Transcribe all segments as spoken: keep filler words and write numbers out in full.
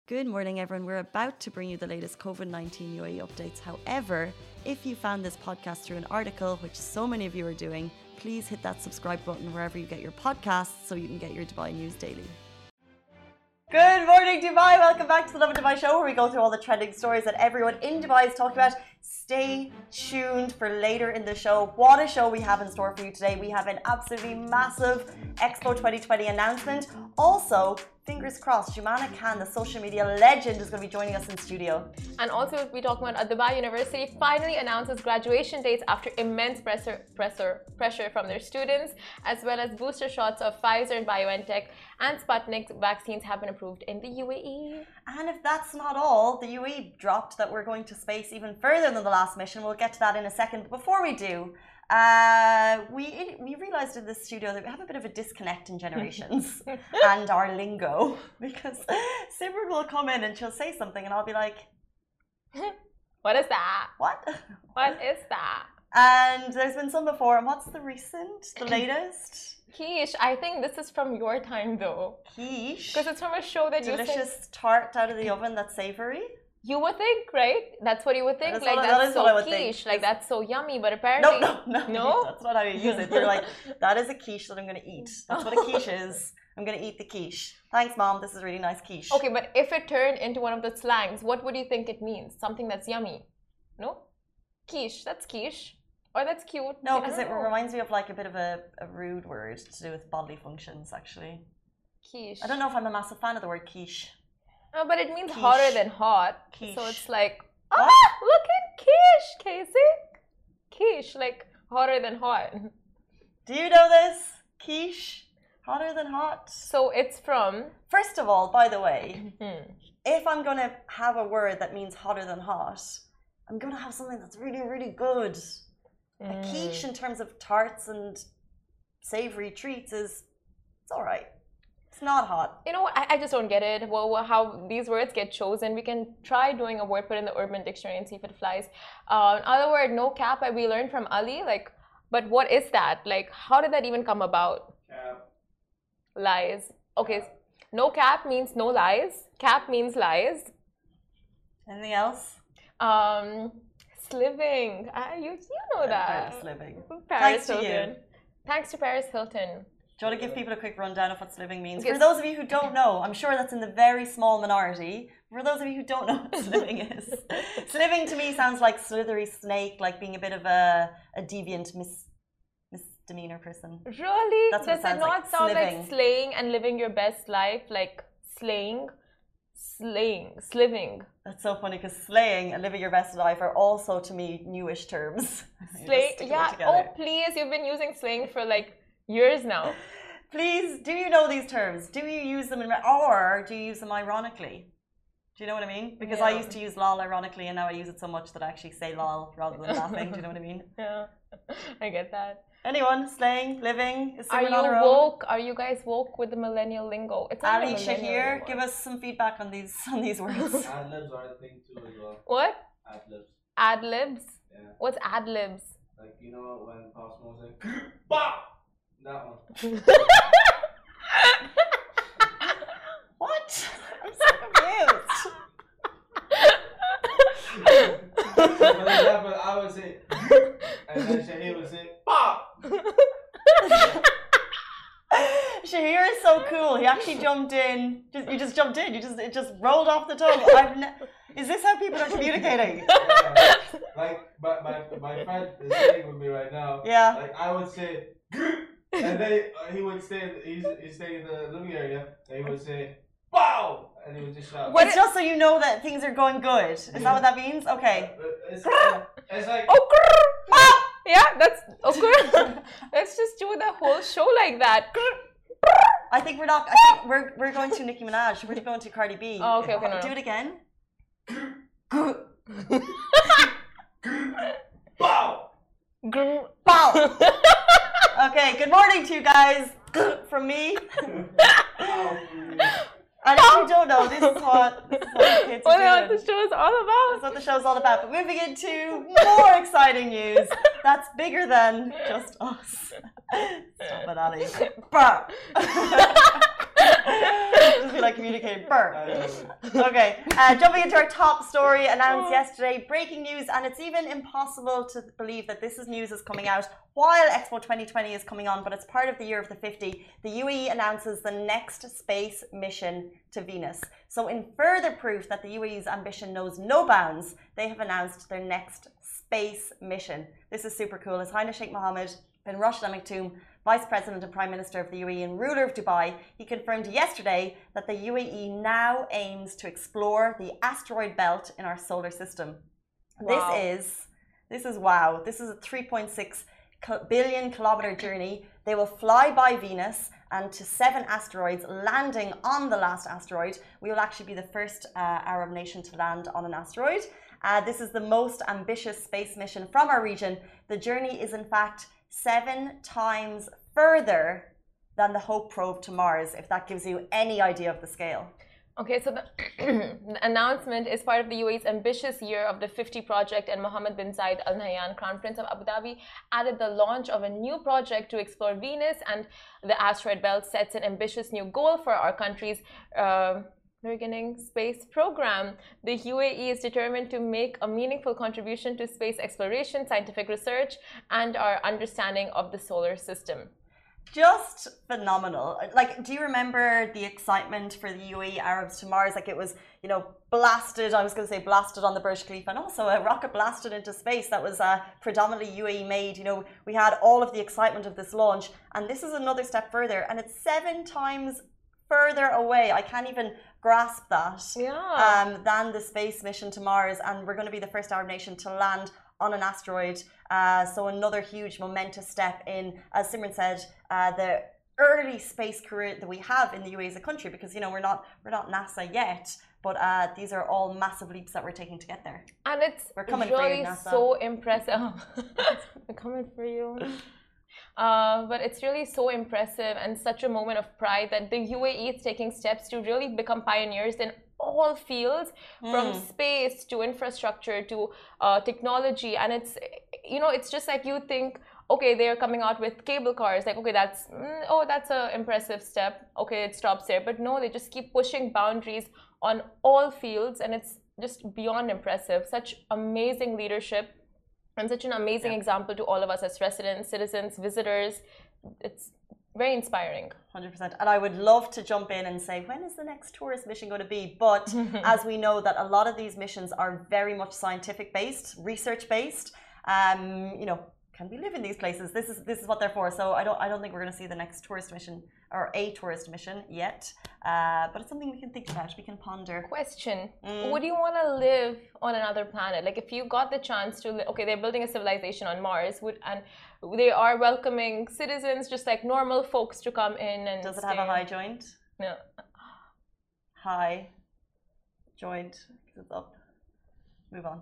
Good morning, everyone. We're about to bring you the latest COVID nineteen U A E updates. However, if you found this podcast through an article, which so many of you are doing, please hit that subscribe button wherever you get your podcasts so you can get your Dubai news daily. Good morning, Dubai. Welcome back to the Love and Dubai show, where we go through all the trending stories that everyone in Dubai is talking about. Stay tuned for later in the show. What a show we have in store for you today. We have an absolutely massive Expo twenty twenty announcement. Also, fingers crossed, Jumana Khan, the social media legend, is going to be joining us in studio. And also, we'll be talking about Dubai University finally announces graduation dates after immense pressure, pressure, pressure from their students, as well as booster shots of Pfizer and BioNTech and Sputnik vaccines have been approved in the U A E. And if that's not all, the U A E dropped that we're going to space even further than the last mission. We'll get to that in a second. But before we do, uh, we we realized in this studio that we have a bit of a disconnect in generations and our lingo, because Simran will come in and she'll say something and I'll be like, what is that? What? What is that? And there's been some before. And what's the recent, the latest? Quiche. I think this is from your time though. Quiche? Because it's from a show that Delicious you Delicious tart out of the oven that's savory? You would think, right? That's what you would think. That's like, what, that's that so quiche. Like, that's so yummy. But apparently... No, no, no. No? That's not how you use it. You're like, that is a quiche that I'm going to eat. That's what a quiche is. I'm going to eat the quiche. Thanks, Mom. This is really nice quiche. Okay, but if it turned into one of the slangs, what would you think it means? Something that's yummy? No? Quiche. That's quiche. Or that's cute. No, because it reminds me of like a bit of a, a rude word to do with bodily functions, actually. Quiche. I don't know if I'm a massive fan of the word quiche. No, but it means Quiche. hotter than hot. Quiche. So it's like, What? ah, look at quiche, Casey. Quiche, like hotter than hot. Do you know this? Quiche? Hotter than hot? So it's from... First of all, by the way, if I'm going to have a word that means hotter than hot, I'm going to have something that's really, really good. Mm. A quiche in terms of tarts and savory treats is, it's all right. It's not hot. You know what? I, I just don't get it. Well, how these words get chosen. We can try doing a word put in the Urban Dictionary and see if it flies. Uh, another word, no cap, we learned from Ali. Like, but what is that? Like, how did that even come about? Cap. Lies. Okay, cap. No cap means no lies. Cap means lies. Anything else? Um, sliving. Uh, you you know that. Sliving. Paris Thanks to Hilton. you. Thanks to Paris Hilton. Do you want to give people a quick rundown of what sliving means? Yes. For those of you who don't know, I'm sure that's in the very small minority. For those of you who don't know what sliving is, sliving to me sounds like slithery snake, like being a bit of a, a deviant mis, misdemeanor person. Really? That's what Does it sounds it not like. sound Sliving. like slaying and living your best life? Like slaying? Slaying. Sliving. That's so funny because slaying and living your best life are also to me newish terms. Slay. Yeah. Oh, please. You've been using slaying for like years now. Please, do you know these terms? Do you use them in, or do you use them ironically? Do you know what I mean? Because yeah. I used to use lol ironically, and now I use it so much that I actually say lol rather than laughing. Do you know what I mean? Yeah, I get that. Anyone slaying, living? Is Are you on her woke? own? Are you guys woke with the millennial lingo? It's not Ali, millennial Shahir, anymore. give us some feedback on these on these words. Ad-libs are a thing too as well. What? Ad-libs. Ad libs. Yeah. What's ad libs? Like, you know when Post Smoke's like, bah! That one. What? I'm so confused. For example, I would say, and then Shahir would say, bah! Shahir is so cool. He actually jumped in. Just, you just jumped in. You just it just rolled off the tongue. I've ne is this how people are communicating? Yeah. Like my my my friend is sitting with me right now. Yeah. Like I would say, and then uh, he would stay. He's he's staying in the living area, and he would say, "Bow!" and he would just shout. It's just so you know that things are going good. Is Yeah. that what that means? Okay. It's, uh, it's like. Oh, ah! Yeah, that's okay. Let's just do the whole show like that. I think we're not. I think we're we're going to Nicki Minaj. We're going to Cardi B. Oh, okay, okay, no, Do no. it again. Bow! Grr. Bow. Okay. Good morning to you guys from me. And if you don't know, this is what, this is what the kids What are what doing. the show is all about. That's what the show's all about. But moving into more exciting news that's bigger than just us. Stop it, Ali. Bah. Just be like communicating. Burr. Okay, uh, jumping into our top story announced yesterday, breaking news, and it's even impossible to believe that this is news is coming out while Expo twenty twenty is coming on, but it's part of the year of the fifty. The U A E announces the next space mission to Venus. So in further proof that the U A E's ambition knows no bounds, they have announced their next space mission. This is super cool. His Highness Sheikh Mohammed bin Rashid Al Maktoum, Vice President and Prime Minister of the U A E and ruler of Dubai, he confirmed yesterday that the U A E now aims to explore the asteroid belt in our solar system. Wow. This is, this is wow. This is a three point six billion kilometer journey. They will fly by Venus and to seven asteroids, landing on the last asteroid. We will actually be the first uh, Arab nation to land on an asteroid. Uh, this is the most ambitious space mission from our region. The journey is in fact seven times further than the HOPE probe to Mars, if that gives you any idea of the scale. Okay, so the, the announcement is part of the U A E's ambitious year of the fifty project, and Mohammed bin Zayed Al Nahyan, Crown Prince of Abu Dhabi, added the launch of a new project to explore Venus, and the asteroid belt sets an ambitious new goal for our country's uh, beginning space program. The U A E is determined to make a meaningful contribution to space exploration, scientific research, and our understanding of the solar system. Just phenomenal. Like, do you remember the excitement for the U A E Arabs to Mars? Like, it was, you know, blasted, I was going to say blasted on the Burj Khalifa, and also a rocket blasted into space that was uh, predominantly U A E made. You know, we had all of the excitement of this launch, and this is another step further, and it's seven times further away. I can't even grasp that. Yeah. Um, than the space mission to Mars, and we're going to be the first Arab nation to land on an asteroid. Uh, so another huge momentous step in, as Simran said, uh, the early space career that we have in the U A E as a country, because you know we're not we're not NASA yet, but uh, these are all massive leaps that we're taking to get there. And it's we're coming really for you, NASA. So impressive. We're coming for you. Uh, but it's really so impressive and such a moment of pride that the U A E is taking steps to really become pioneers in all fields, mm. from space to infrastructure to uh, technology. And it's, you know, it's just like you think, okay, they're coming out with cable cars, like, okay, that's, mm, oh, that's an impressive step. Okay, it stops there. But no, they just keep pushing boundaries on all fields, and it's just beyond impressive. Such amazing leadership. And such an amazing yeah. example to all of us as residents, citizens, visitors. It's very inspiring. one hundred percent. And I would love to jump in and say, when is the next tourist mission going to be? But as we know that a lot of these missions are very much scientific based, research based. Um, you know, can we live in these places? This is this is what they're for. So I don't I don't think we're going to see the next tourist mission or a tourist mission yet. Uh, but it's something we can think about. We can ponder. Question: mm. Would you want to live on another planet? Like, if you got the chance to, li- okay, they're building a civilization on Mars, would and they are welcoming citizens, just like normal folks, to come in and. Does it stay. have a high joint? No. High joint. It's up. Move on.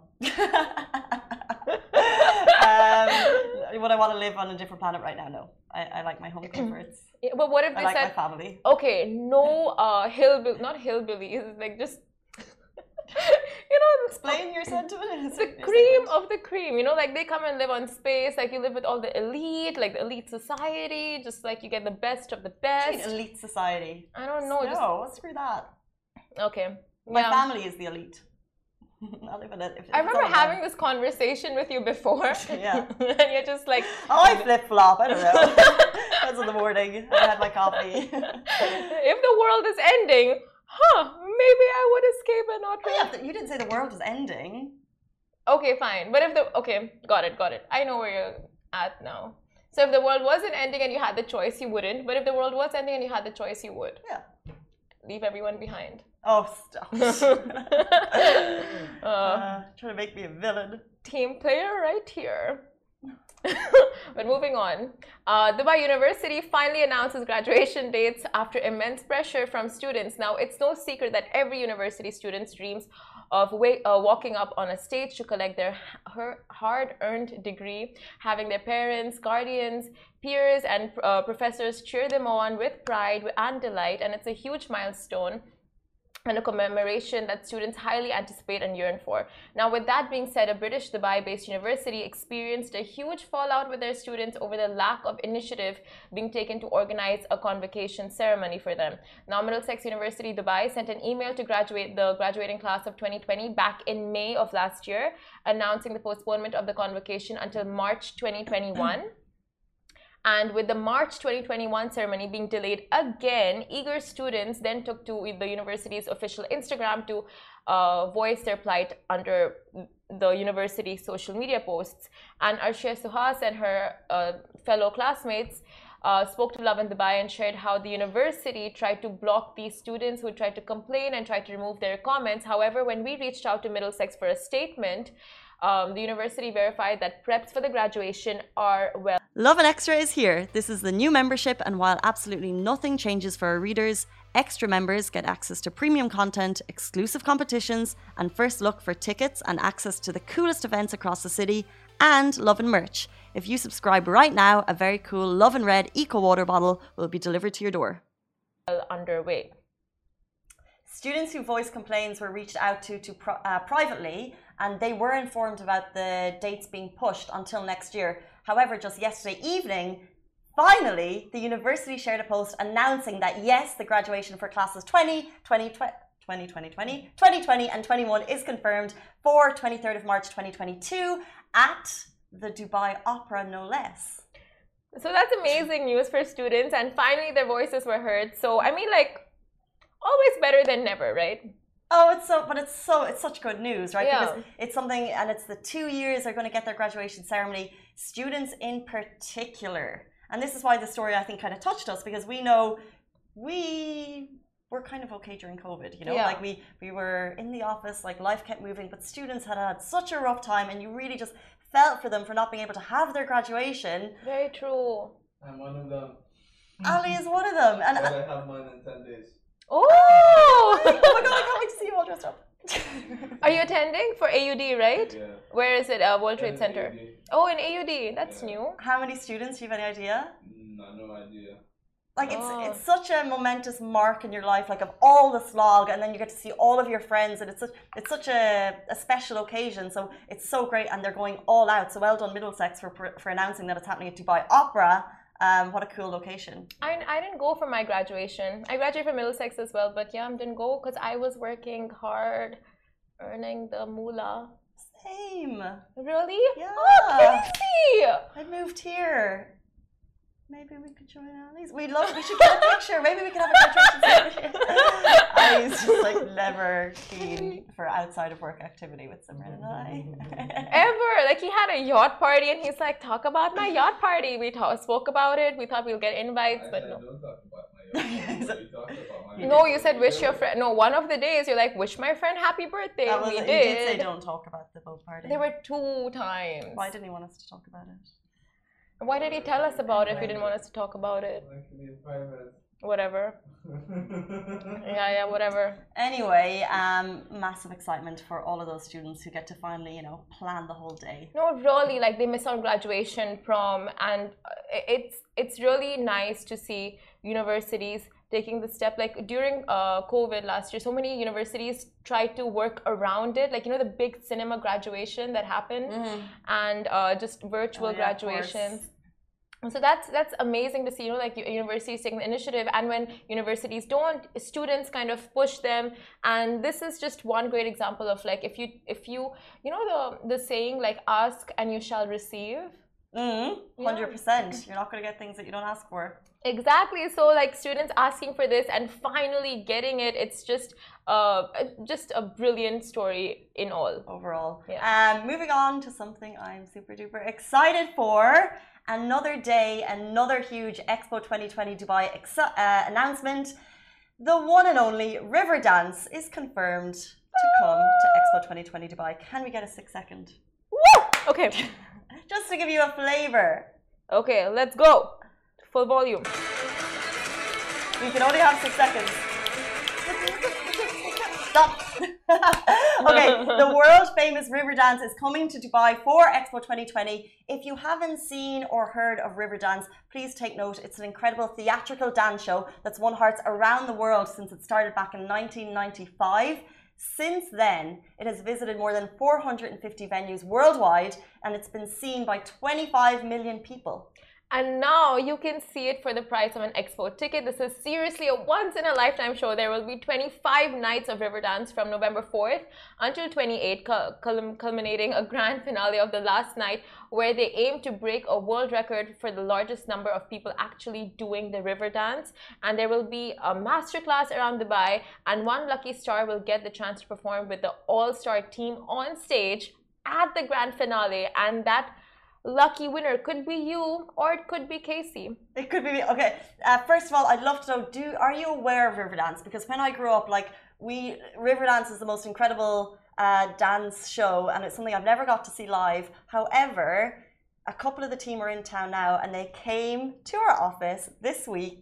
um, would I want to live on a different planet right now? No. I, I like my home comforts. Yeah, but what if they I like said, my family. Okay, no uh, hillbilly, not hillbillies, like just, you know, explain your sentiment. The your cream sentiment. of the cream, you know, like they come and live on space, like you live with all the elite, like the elite society, just like you get the best of the best. Elite society. I don't know. No, just... screw that. Okay. My yeah. family is the elite. I'll live in it. If, if I remember having this conversation with you before. Yeah. And you're just like, oh, I flip flop. I don't know. That's in the morning. I had my coffee. If the world is ending, huh, maybe I would escape and not. Oh, yeah, you didn't say the world was ending. Okay, fine. But if the, okay, got it, got it. I know where you're at now. So if the world wasn't ending and you had the choice, you wouldn't. But if the world was ending and you had the choice, you would. Yeah. Leave everyone behind. Oh, stop. uh, uh, trying to make me a villain. Team player right here. But moving on, uh, Dubai University finally announces graduation dates after immense pressure from students. Now, it's no secret that every university student's dreams of wa- uh, walking up on a stage to collect their her hard-earned degree, having their parents, guardians, peers, and uh, professors cheer them on with pride and delight, and it's a huge milestone. and a commemoration that students highly anticipate and yearn for. Now, with that being said, a British Dubai-based university experienced a huge fallout with their students over the lack of initiative being taken to organize a convocation ceremony for them. Now, Middlesex University Dubai sent an email to graduate the graduating class of twenty twenty back in May of last year, announcing the postponement of the convocation until March twenty twenty-one. And with the March twenty twenty-one ceremony being delayed again, eager students then took to the university's official Instagram to uh, voice their plight under the university's social media posts. And Arshia Suhas and her uh, fellow classmates uh, spoke to Lovin Dubai and shared how the university tried to block these students who tried to complain and tried to remove their comments. However, when we reached out to Middlesex for a statement, Um, the university verified that preps for the graduation are well. Lovin Extra is here. This is the new membership, and while absolutely nothing changes for our readers, extra members get access to premium content, exclusive competitions, and first look for tickets and access to the coolest events across the city, and Lovin merch. If you subscribe right now, a very cool Lovin Red Eco Water bottle will be delivered to your door. Underway. Students who voiced complaints were reached out to, to pro, uh, privately, and they were informed about the dates being pushed until next year. However, just yesterday evening, finally, the university shared a post announcing that yes, the graduation for classes twenty, twenty, twenty, twenty, twenty, twenty twenty and twenty-one is confirmed for twenty-third of March twenty twenty-two at the Dubai Opera, no less. So that's amazing news for students, and finally their voices were heard. So, I mean, like, always better than never, right? Oh, it's so, but it's so, it's such good news, right? Yeah. Because it's something, and it's the two years they're going to get their graduation ceremony, students in particular. And this is why the story, I think, kind of touched us, because we know we were kind of okay during COVID, you know? Yeah. Like we, we were in the office, like life kept moving, but students had had such a rough time, and you really just felt for them for not being able to have their graduation. Very true. I'm one of them. Ali is one of them. And But I have mine in ten days. Oh! oh my God, I can't wait to see you all dressed up. Are you attending for A U D, right? Yeah. Where is it? Uh, World Trade And Center. A U D. Oh, in A U D. That's Yeah. new. How many students? Do you have any idea? No, no idea. Like it's Oh. it's such a momentous mark in your life, like of all the slog, and then you get to see all of your friends, and it's such, it's such a, a special occasion. So it's so great, and they're going all out. So well done, Middlesex, for for announcing that it's happening at Dubai Opera. Um, what a cool location. I, I didn't go for my graduation. I graduated from Middlesex as well, but yeah, I didn't go because I was working hard, earning the moolah. Same. Really? Yeah. Oh, crazy! I moved here. Maybe we could join Ali's. We love. We should get a picture. Maybe we could have a graduation ceremony. Ali's just like never keen for outside of work activity with Simran and I. Ever. Like, he had a yacht party and he's like, talk about my yacht party. We talk, spoke about it. We thought we'll get invites, I but said, no. don't talk about my yacht. You talked about my No, yacht. you said wish your friend. No, one of the days you're like, wish my friend happy birthday. That was, we he did. did say don't talk about the boat party. There were two times. Why didn't he want us to talk about it? Why did he tell us about it if he didn't want us to talk about it? Actually, in private. Whatever. Yeah, yeah, whatever. Anyway, um, massive excitement for all of those students who get to finally, you know, plan the whole day. No, really, like they miss out graduation, prom, and it's it's really nice to see universities taking the step. Like during uh, COVID last year, so many universities tried to work around it. Like, you know, the big cinema graduation that happened, Mm-hmm. and uh, just virtual Oh, yeah, graduations. So that's that's amazing to see, you know, like universities taking the initiative, and when universities don't, students kind of push them. And this is just one great example of like, if you if you you know the the saying like, ask and you shall receive. Mm-hmm. one hundred percent. You're not going to get things that you don't ask for. Exactly. So like students asking for this and finally getting it, it's just uh just a brilliant story in all. Overall. Yeah. Um, moving on to something I'm super duper excited for. Another day, another huge Expo twenty twenty Dubai ex- uh, announcement. The one and only Riverdance is confirmed to come to Expo twenty twenty Dubai. Can we get a six second? Woo! Okay. Just to give you a flavor. Okay, let's go. Full volume. You can only have six seconds. Stop. Okay, the world famous Riverdance is coming to Dubai for Expo twenty twenty. If you haven't seen or heard of Riverdance, please take note. It's an incredible theatrical dance show that's won hearts around the world since it started back in nineteen ninety-five. Since then, it has visited more than four hundred fifty venues worldwide, and it's been seen by twenty-five million people. And now you can see it for the price of an Expo ticket. This is seriously a once-in-a-lifetime show. There will be twenty-five nights of Riverdance from November fourth until twenty-eighth, culminating a grand finale of the last night, where they aim to break a world record for the largest number of people actually doing the Riverdance. And there will be a masterclass around Dubai, and one lucky star will get the chance to perform with the all-star team on stage at the grand finale. And that lucky winner could be you, or it could be Casey. It could be me. Okay. Uh, first of all, I'd love to know: Do are you aware of Riverdance? Because when I grew up, like we, Riverdance is the most incredible uh, dance show, and it's something I've never got to see live. However, a couple of the team are in town now, and they came to our office this week,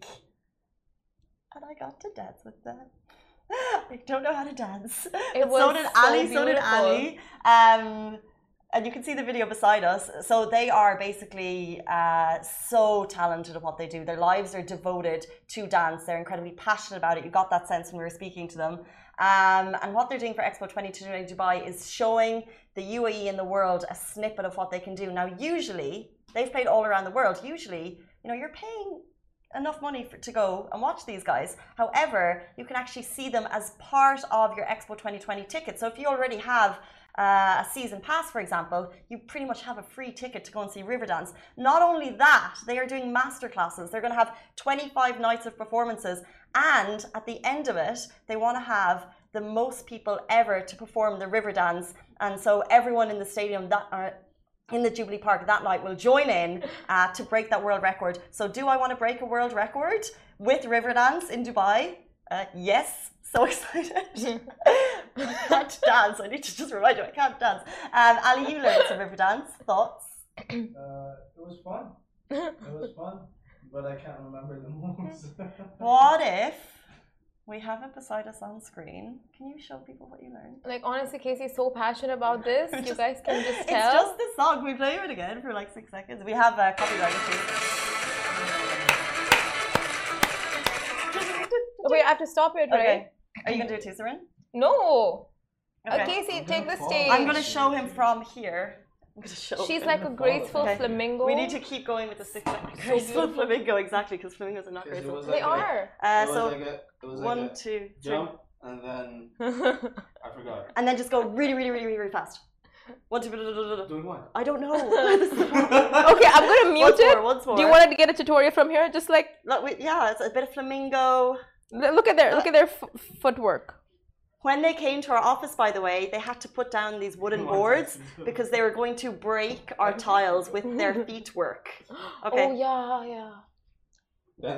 and I got to dance with them. I don't know how to dance. It was so did so Ali. So did beautiful. Ali. Um, And you can see the video beside us. So they are basically uh, so talented at what they do. Their lives are devoted to dance. They're incredibly passionate about it. You got that sense when we were speaking to them. Um, and what they're doing for Expo twenty twenty Dubai is showing the U A E and the world a snippet of what they can do. Now, usually, they've played all around the world. Usually, you know, you're paying enough money for, to go and watch these guys. However, you can actually see them as part of your Expo twenty twenty ticket. So if you already have Uh, a season pass, for example, you pretty much have a free ticket to go and see Riverdance. Not only that, they are doing master classes. They're going to have twenty-five nights of performances, and at the end of it, they want to have the most people ever to perform the Riverdance. And so everyone in the stadium that are in the Jubilee Park that night will join in uh, to break that world record. So do I want to break a world record with Riverdance in Dubai? Uh, yes. So excited. I can't dance. I need to just remind you, I can't dance. Um, Ali, you learned some Riverdance. Thoughts? Uh, it was fun. It was fun, but I can't remember the moves. What if we have it beside us on screen? Can you show people what you learned? Like, honestly, Casey's so passionate about this. Just, you guys can just tell. It's just this song. We play it again for like six seconds. We have a uh, copyright issue. Wait, I have to stop it, right? Okay. Are you going to do it too, Sarin? No. Okay. Uh, Casey, I'm take the gonna stage. I'm going to show him from here. I'm going to show She's him. like a graceful Okay. flamingo. We need to keep going with the six graceful flamingo, exactly, because flamingos are not Because it graceful. was They like a- are. Uh, it was so like a, it was like one, a two, three, jump, and then I forgot. and then just go really, really, really, really, really fast. One, two, Doing what? I don't know. Okay, I'm gonna mute once it. More, once more. Do you want to get a tutorial from here? Just like, Look, we, yeah, it's a bit of flamingo. look at their look at their f footwork. When they came to our office, by the way, they had to put down these wooden boards because they were going to break our tiles with their feet work. Okay. Oh yeah, yeah. Then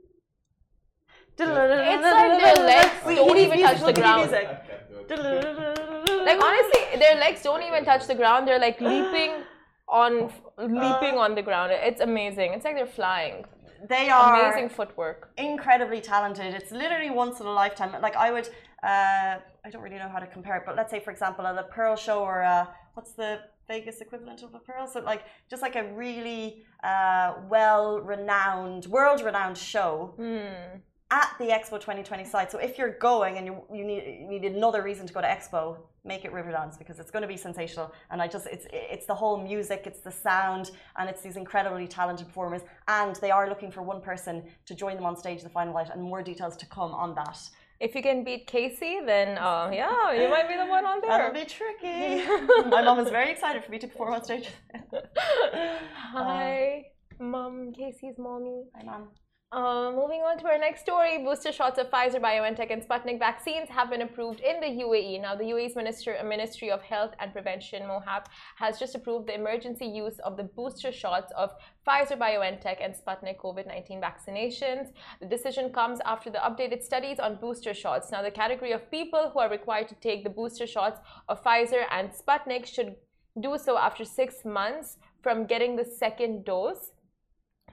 It's like their legs Wait, don't he needs even music, touch the we need ground. music. I can't do it. Like, honestly, their legs don't even touch the ground. They're like leaping on leaping on the ground. It's amazing. It's like they're flying. They are Amazing footwork. incredibly talented. It's literally once in a lifetime. Like I would, uh, I don't really know how to compare it, but let's say, for example, at a Pearl show or uh, what's the Vegas equivalent of a Pearl? So like just like a really uh, well-renowned, world-renowned show. Hmm. At the Expo twenty twenty site. So if you're going and you, you need you need another reason to go to Expo, make it Riverdance because it's going to be sensational. And I just it's it's the whole music, it's the sound, and it's these incredibly talented performers. And they are looking for one person to join them on stage the final night, and more details to come on that. If you can beat Casey, then uh, yeah, you might be the one on there. That'll be tricky. My mom is very excited for me to perform on stage. Hi, mom, Casey's mommy. Hi, mom. Uh, moving on to our next story, booster shots of Pfizer, BioNTech, and Sputnik vaccines have been approved in the U A E. Now, the U A E's Minister, Ministry of Health and Prevention, MOHAP, has just approved the emergency use of the booster shots of Pfizer, BioNTech, and Sputnik COVID nineteen vaccinations. The decision comes after the updated studies on booster shots. Now, the category of people who are required to take the booster shots of Pfizer and Sputnik should do so after six months from getting the second dose.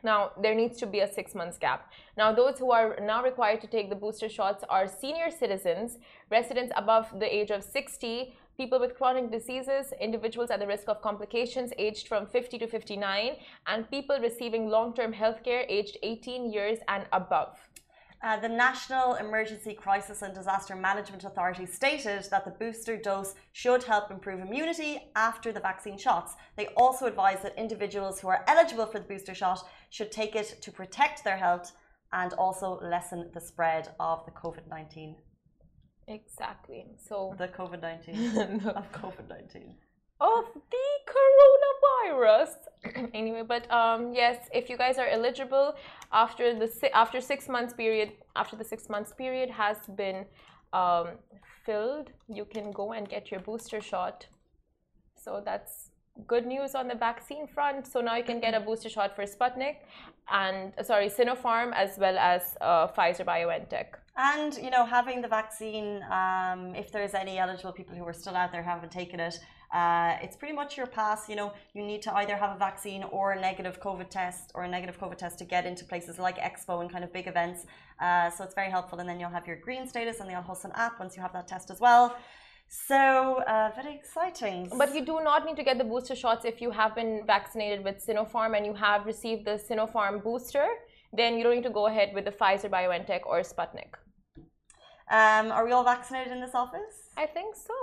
Now, there needs to be a six months gap. Now, those who are now required to take the booster shots are senior citizens, residents above the age of sixty, people with chronic diseases, individuals at the risk of complications aged from fifty to fifty-nine, and people receiving long-term health care aged eighteen years and above. Uh, the National Emergency Crisis and Disaster Management Authority stated that the booster dose should help improve immunity after the vaccine shots. They also advised that individuals who are eligible for the booster shot should take it to protect their health and also lessen the spread of the COVID nineteen. Exactly. So the COVID nineteen of COVID nineteen. Of the coronavirus. Anyway, but um, yes, if you guys are eligible after the after six months period, after the six months period has been um, filled, you can go and get your booster shot. So that's good news on the vaccine front. So now you can get a booster shot for Sputnik and sorry, Sinopharm as well as uh, Pfizer BioNTech. And you know, having the vaccine, um, if there's any eligible people who are still out there who haven't taken it, uh, it's pretty much your pass. You know, you need to either have a vaccine or a negative COVID test or a negative COVID test to get into places like Expo and kind of big events. Uh, so it's very helpful. And then you'll have your green status on the Al Hosn app once you have that test as well. So uh, very exciting. But you do not need to get the booster shots if you have been vaccinated with Sinopharm and you have received the Sinopharm booster. Then you don't need to go ahead with the Pfizer BioNTech or Sputnik. Um, are we all vaccinated in this office? I think so.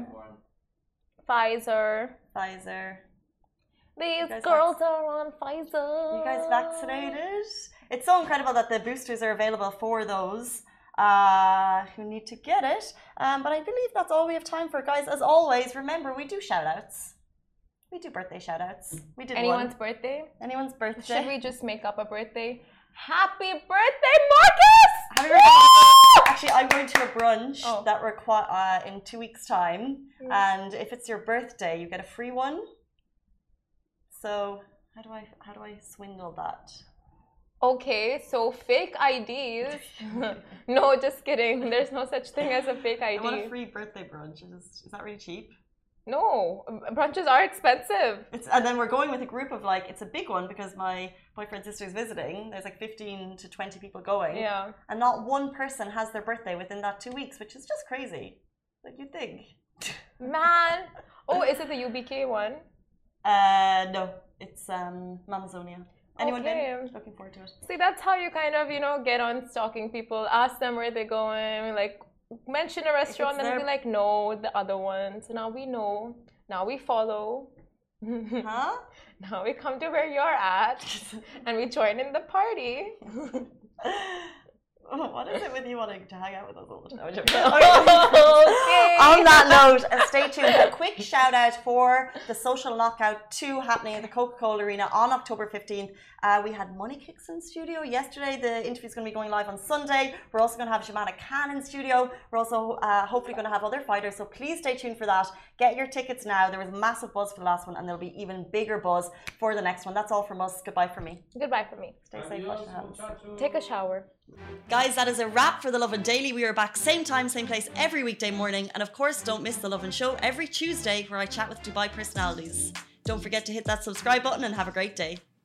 Pfizer. Pfizer. These girls are on Pfizer. You guys vaccinated? It's so incredible that the boosters are available for those uh, who need to get it. Um, but I believe that's all we have time for, guys. As always, remember, we do shout-outs. We do birthday shout-outs. We did Anyone's one. birthday? Anyone's birthday. Should we just make up a birthday? Happy birthday, Marcus! Happy birthday! Actually, I'm going to a brunch oh. that require uh, in two weeks' time, mm. and if it's your birthday, you get a free one. So how do I how do I swindle that? Okay, so fake I Ds. No, just kidding. There's no such thing as a fake I D. I want a free birthday brunch. Is, is that really cheap? No, brunches are expensive. It's, and then we're going with a group of like, it's a big one because my boyfriend's sister is visiting. There's like fifteen to twenty people going. Yeah. And not one person has their birthday within that two weeks, which is just crazy. Like you'd think. Man. Oh, is it the U B K one? Uh, no, it's um, Mamazonia. Anyone okay. been? Looking forward to it. See, that's how you kind of, you know, get on stalking people. Ask them where they're going, like, mention a restaurant and they'll be like, no, the other one. So now we know. Now we follow. Huh? Now we come to where you're at and we join in the party. What is it with you wanting to hang out with us all the time? Okay. On that note, uh, stay tuned. A quick shout out for the Social Knockout two happening at the Coca-Cola Arena on October fifteenth. Uh, we had Money Kicks in studio yesterday. The interview is going to be going live on Sunday. We're also going to have Jemana Khan in studio. We're also uh, hopefully going to have other fighters. So please stay tuned for that. Get your tickets now. There was massive buzz for the last one and there'll be even bigger buzz for the next one. That's all from us. Goodbye from me. Goodbye from me. Stay safe. Wash your hands. Take a shower. Guys, that is a wrap for The Lovin Daily. We are back same time, same place every weekday morning. And of course, don't miss The Lovin Show every Tuesday where I chat with Dubai personalities. Don't forget to hit that subscribe button and have a great day.